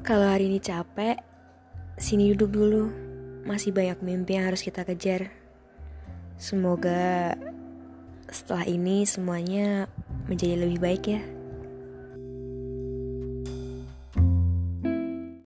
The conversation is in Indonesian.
Kalau hari ini capek, sini duduk dulu. Masih banyak mimpi yang harus kita kejar. Semoga setelah ini semuanya menjadi lebih baik ya.